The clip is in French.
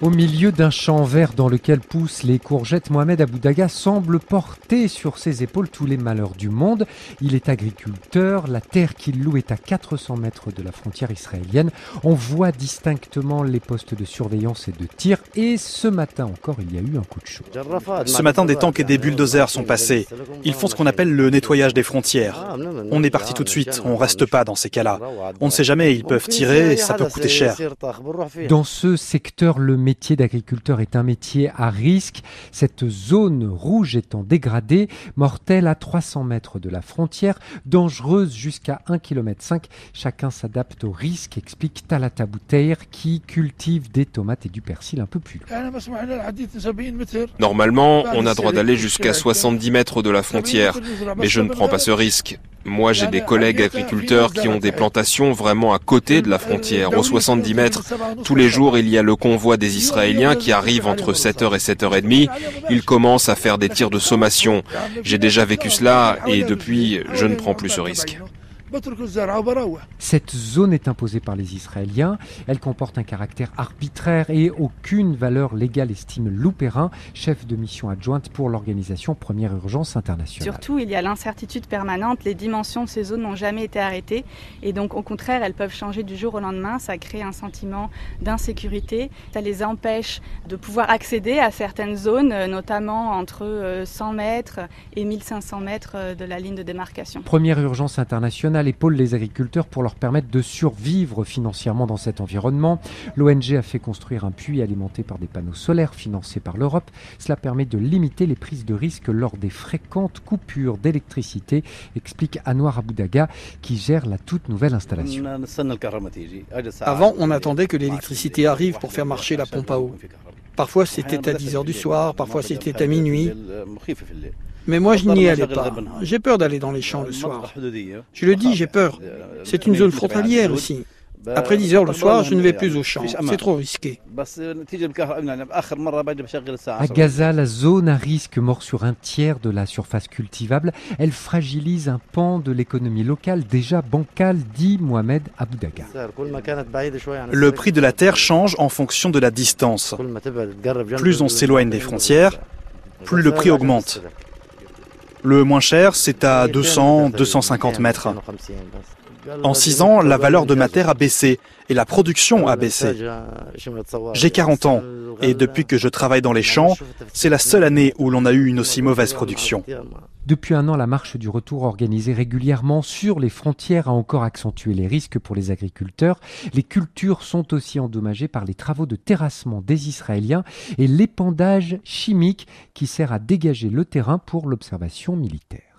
Au milieu d'un champ vert dans lequel poussent les courgettes, Mohamed Aboudaga semble porter sur ses épaules tous les malheurs du monde. Il est agriculteur, la terre qu'il loue est à 400 mètres de la frontière israélienne. On voit distinctement les postes de surveillance et de tir et ce matin encore, il y a eu un coup de chaud. Ce matin, des tanks et des bulldozers sont passés. Ils font ce qu'on appelle le nettoyage des frontières. On est parti tout de suite, on reste pas dans ces cas-là. On ne sait jamais, ils peuvent tirer, ça peut coûter cher. Dans ce secteur, le métier d'agriculteur est un métier à risque. Cette zone rouge étant dégradée, mortelle à 300 mètres de la frontière, dangereuse jusqu'à 1,5 km. Chacun s'adapte au risque, explique Talata Bouteir, qui cultive des tomates et du persil un peu plus loin. Normalement, on a droit d'aller jusqu'à 70 mètres de la frontière, mais je ne prends pas ce risque. Moi, j'ai des collègues agriculteurs qui ont des plantations vraiment à côté de la frontière, aux 70 mètres. Tous les jours, il y a le convoi des Israéliens qui arrive entre 7h et 7h30. Ils commencent à faire des tirs de sommation. J'ai déjà vécu cela et depuis, je ne prends plus ce risque. Cette zone est imposée par les Israéliens. Elle comporte un caractère arbitraire et aucune valeur légale, estime Lou Perrin, chef de mission adjointe pour l'organisation Première Urgence Internationale. Surtout, il y a l'incertitude permanente. Les dimensions de ces zones n'ont jamais été arrêtées. Et donc, au contraire, elles peuvent changer du jour au lendemain. Ça crée un sentiment d'insécurité. Ça les empêche de pouvoir accéder à certaines zones, notamment entre 100 mètres et 1500 mètres de la ligne de démarcation. Première Urgence Internationale épaule les agriculteurs pour leur permettre de survivre financièrement dans cet environnement. L'ONG a fait construire un puits alimenté par des panneaux solaires financés par l'Europe. Cela permet de limiter les prises de risque lors des fréquentes coupures d'électricité, explique Anouar Aboudaga, qui gère la toute nouvelle installation. Avant, on attendait que l'électricité arrive pour faire marcher la pompe à eau. Parfois, c'était à 10h du soir, parfois c'était à minuit. Mais moi, je n'y allais pas. J'ai peur d'aller dans les champs le soir. Je le dis, j'ai peur. C'est une zone frontalière aussi. Après 10 heures le soir, je ne vais plus au champ. C'est trop risqué. À Gaza, la zone à risque mord sur un tiers de la surface cultivable. Elle fragilise un pan de l'économie locale déjà bancale, dit Mohamed Aboudaga. Le prix de la terre change en fonction de la distance. Plus on s'éloigne des frontières, plus le prix augmente. Le moins cher, c'est à 200-250 mètres. En 6 ans, la valeur de ma terre a baissé et la production a baissé. J'ai 40 ans et depuis que je travaille dans les champs, c'est la seule année où l'on a eu une aussi mauvaise production. Depuis un an, la marche du retour organisée régulièrement sur les frontières a encore accentué les risques pour les agriculteurs. Les cultures sont aussi endommagées par les travaux de terrassement des Israéliens et l'épandage chimique qui sert à dégager le terrain pour l'observation militaire.